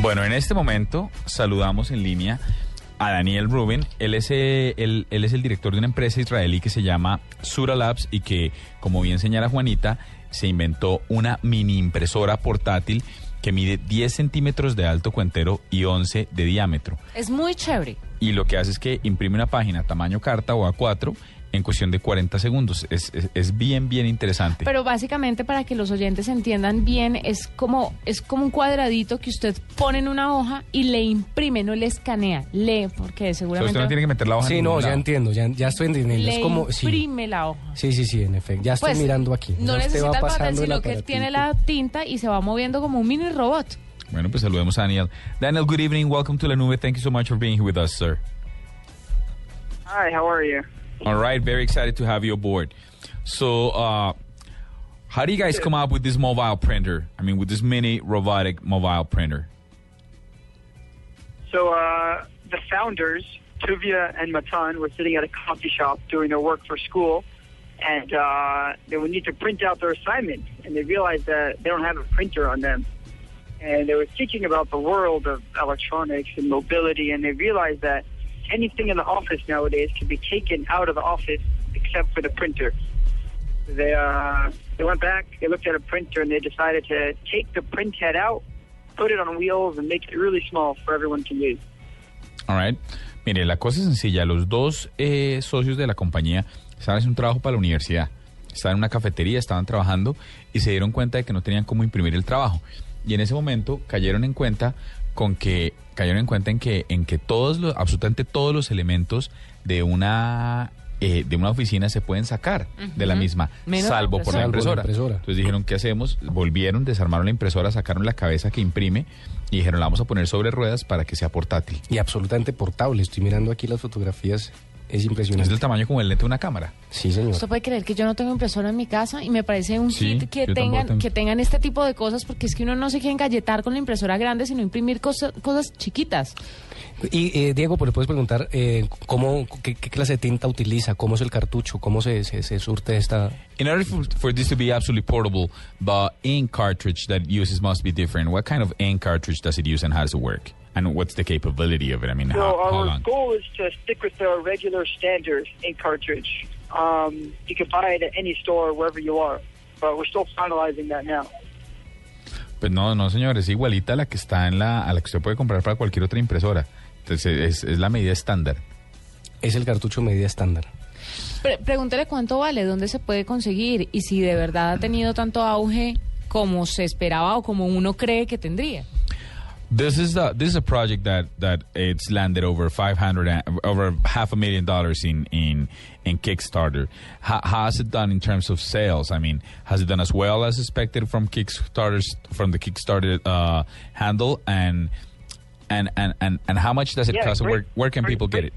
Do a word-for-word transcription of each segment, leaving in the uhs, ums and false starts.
Bueno, en este momento saludamos en línea a Daniel Rubin. Él es, eh, él, él es el director de una empresa israelí que se llama Sura Labs y que, como bien señala Juanita, se inventó una mini impresora portátil que mide diez centímetros de alto cuentero y once de diámetro. Es muy chévere. Y lo que hace es que imprime una página tamaño carta o A cuatro en cuestión de cuarenta segundos. Es, es, es bien, bien interesante. Pero básicamente, para que los oyentes entiendan bien, es como, es como un cuadradito que usted pone en una hoja y le imprime, no le escanea, lee, porque seguramente... O sea, usted no tiene que meter la hoja Sí, en no, ningún ya lado. entiendo, ya, ya estoy entendiendo. Le Es como, imprime sí. la hoja. Sí, sí, sí, en efecto. Ya estoy Pues, mirando aquí. No Ya usted necesita va el papel, pasando el sino que él aparatito. tiene la tinta y se va moviendo como un mini robot. Bueno, pues saludemos a Daniel. Daniel, good evening. Welcome to La Nube. Thank you so much for being here with us, sir. Hi, how are you? All right, very excited to have you aboard. So, uh, how do you guys come up with this mobile printer? I mean, with this mini robotic mobile printer? So uh, the founders, Tuvia and Matan, were sitting at a coffee shop doing their work for school, and uh, they would need to print out their assignment, and they realized that they don't have a printer on them. And they were thinking about the world of electronics and mobility, and they realized that anything in the office nowadays can be taken out of the office except for the printer. They uh, they went back, they looked at a printer, and they decided to take the print head out, put it on wheels, and make it really small for everyone to use. All right. Mire, la cosa es sencilla. Los dos eh, socios de la compañía estaban haciendo un trabajo para la universidad. Estaban en una cafetería, estaban trabajando y se dieron cuenta de que no tenían cómo imprimir el trabajo. Y en ese momento cayeron en cuenta con que cayeron en cuenta en que en que todos los absolutamente todos los elementos de una eh, de una oficina se pueden sacar uh-huh. de la misma, Menos salvo por la impresora. la impresora. Entonces dijeron, ¿qué hacemos? Volvieron, desarmaron la impresora, sacaron la cabeza que imprime y dijeron, la vamos a poner sobre ruedas para que sea portátil. Y absolutamente portable. Estoy mirando aquí las fotografías. Es Es impresionante. del tamaño como el lente de una cámara. Sí, señor. Usted puede creer que yo no tengo impresora en mi casa y me parece un Sí, hit que yo tampoco tengan tengo. que tengan este tipo de cosas, porque es que uno no se quiere engalletar con la impresora grande, sino imprimir cosas, cosas chiquitas. Y eh, Diego, pues le puedes preguntar eh, cómo, qué, qué clase de tinta utiliza, cómo es el cartucho, cómo se, se, se surte esta... In order for, for this to be absolutely portable, the ink cartridge that it uses must be different. What kind of ink cartridge does it use and how does it work? And what's the capability of it? I mean, So how, how our long? goal is to stick with the regular standard ink cartridge. Um, you can buy it at any store wherever you are, but we're still finalizing that now. Pues no, no, señor, es igualita a la que está en la, a la que usted puede comprar para cualquier otra impresora. Entonces es, es la medida estándar. Es el cartucho medida estándar. Pre- pregúntele cuánto vale, dónde se puede conseguir y si de verdad ha tenido tanto auge como se esperaba o como uno cree que tendría. This is the this is a project that that it's landed over five hundred and, over half a million dollars in in in Kickstarter. How, how has it done in terms of sales? I mean, has it done as well as expected from Kickstarter's from the Kickstarter uh, handle and and, and and and how much does it Yeah, cost? great, Where where can great, people get great. it?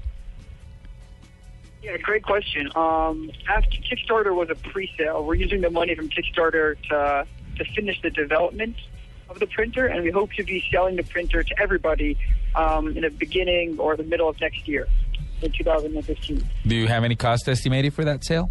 Yeah, great question. Um, after Kickstarter was a pre-sale, we're using the money from Kickstarter to to finish the development of the printer, and we hope to be selling the printer to everybody um, in the beginning or the middle of next year, in two thousand fifteen. Do you have any cost estimated for that sale?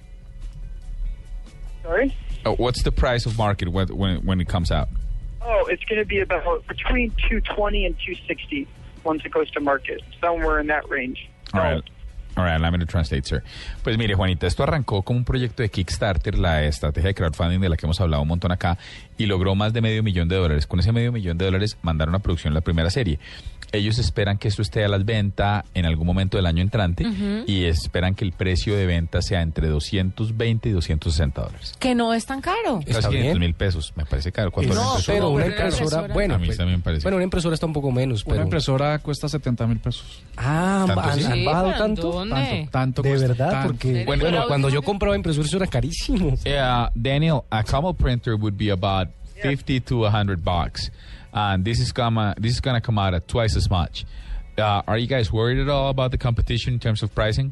Sorry? Uh, what's the price of market when when when it comes out? Oh, it's going to be about between two twenty and two sixty once it goes to market, somewhere in that range. All right. All right, allow me to translate, sir. Pues mire, Juanita, esto arrancó como un proyecto de Kickstarter, la estrategia de crowdfunding de la que hemos hablado un montón acá, y logró más de medio millón de dólares. Con ese medio millón de dólares mandaron a producción la primera serie. Ellos esperan que esto esté a la venta en algún momento del año entrante uh-huh. y esperan que el precio de venta sea entre doscientos veinte y doscientos sesenta dólares. Que no es tan caro. Casi quinientos mil pesos, me parece caro. ¿Cuánto No, es pero una Pero una impresora, impresora- bueno, A mí pues, también me parece. bueno, una impresora está un poco menos, pero... Una impresora cuesta setenta mil pesos. Ah, ¿Tanto ¿han, sí? han Sí, bajado ¿pero tanto? dónde? Tanto, tanto De cuesta, verdad, tanto. porque Bueno, bueno, pero- cuando yo compraba impresora eso era carísimo. Yeah, Daniel, a Camel printer would be about fifty to a hundred bucks, and this is gonna this is gonna come out at twice as much. Uh, are you guys worried at all about the competition in terms of pricing?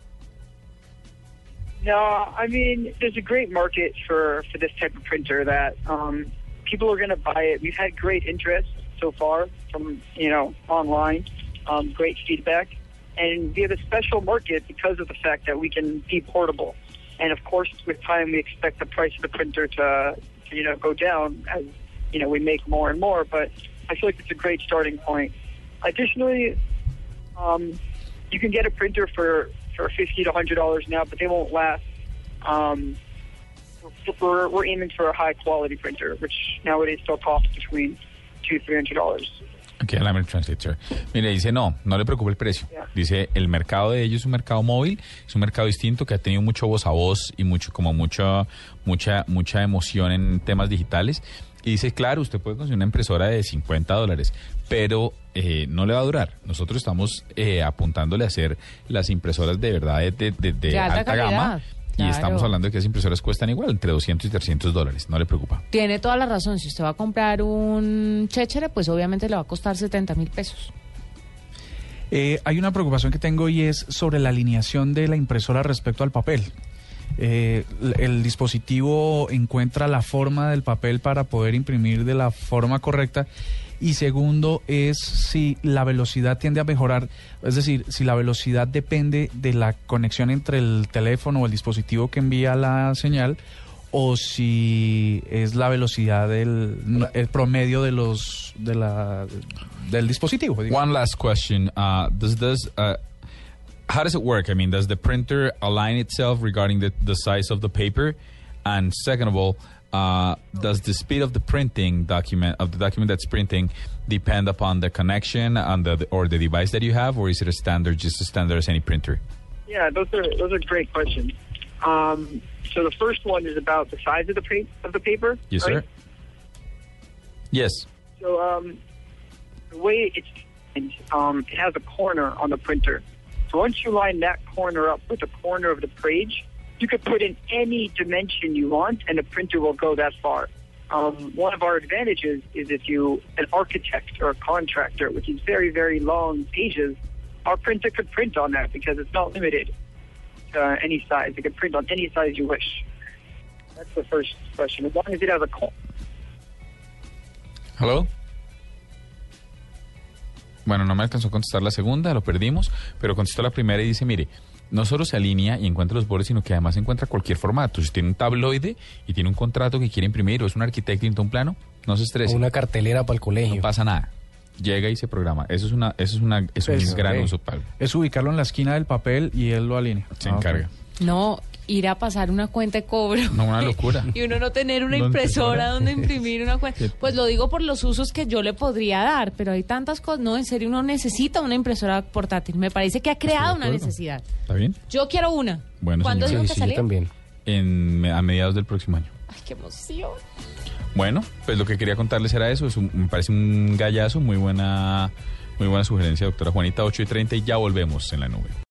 No, I mean, there's a great market for, for this type of printer that um, people are going to buy it. We've had great interest so far from, you know, online, um, great feedback. And we have a special market because of the fact that we can be portable. And, of course, with time, we expect the price of the printer to, to you know, go down as, you know, we make more and more. But I feel like it's a great starting point. Additionally, um, you can get a printer for, for fifty to one hundred dollars now, but they won't last. Um, we're, we're aiming for a high-quality printer, which nowadays still costs between two to three hundred dollars. Okay, let me translate, sir. Mire, dice, no, no le preocupe el precio. Yeah. Dice, el mercado de ellos es un mercado móvil, es un mercado distinto que ha tenido mucho voz a voz y mucho, como mucha, mucha, mucha emoción en temas digitales. Y dice, claro, usted puede conseguir una impresora de cincuenta dólares, pero eh, no le va a durar. Nosotros estamos eh, apuntándole a hacer las impresoras de verdad de, de, de, de alta, alta calidad. gama. Y Claro. estamos hablando de que esas impresoras cuestan igual, entre doscientos y trescientos dólares. No le preocupa. Tiene toda la razón. Si usted va a comprar un chéchere, pues obviamente le va a costar setenta mil pesos. Eh, hay una preocupación que tengo y es sobre la alineación de la impresora respecto al papel. Eh, el dispositivo encuentra la forma del papel para poder imprimir de la forma correcta. Y segundo es si la velocidad tiende a mejorar, es decir, si la velocidad depende de la conexión entre el teléfono o el dispositivo que envía la señal, o si es la velocidad del el promedio de los de la del dispositivo. digamos. One last question. Uh, does this, uh, how does it work? I mean, does the printer align itself regarding the, the size of the paper? And second of all, uh, does the speed of the printing document, of the document that's printing, depend upon the connection on the, or the device that you have, or is it a standard, just as standard as any printer? Yeah, those are those are great questions. Um, so the first one is about the size of the pa- of the paper. Yes, right? sir. Yes. So um, the way it's um, it has a corner on the printer. So once you line that corner up with the corner of the page, you could put in any dimension you want, and the printer will go that far. Um, one of our advantages is if you, an architect or a contractor, which is very, very long pages, our printer could print on that because it's not limited to uh, any size. It can print on any size you wish. That's the first question. As long as it has a corner. Hello. Bueno, no me alcanzó a contestar la segunda, lo perdimos, pero contestó la primera y dice, mire, no solo se alinea y encuentra los bordes, sino que además encuentra cualquier formato. Si tiene un tabloide y tiene un contrato que quiere imprimir, o es un arquitecto y necesita un plano, no se estrese. O una cartelera para el colegio. No pasa nada. Llega y se programa. Eso es una, eso es una, es un Pues, gran ok. uso, Pablo. Es ubicarlo en la esquina del papel y él lo alinea. Se Ah, ok. encarga. No, ir a pasar una cuenta de cobro. No, una locura. Y uno no tener una Una impresora impresora. donde imprimir una cuenta. Sí. Pues lo digo por los usos que yo le podría dar, pero hay tantas cosas. No, en serio, uno necesita una impresora portátil. Me parece que ha creado una acuerdo. necesidad. ¿Está bien? Yo quiero una. Bueno, ¿Cuándo señora. dijo Sí, que sí, yo salía? también. En, a mediados del próximo año. Ay, qué emoción. Bueno, pues lo que quería contarles era eso. Es un- me parece un gallazo. Muy buena, muy buena sugerencia, doctora Juanita. ocho y treinta y ya volvemos en la nube.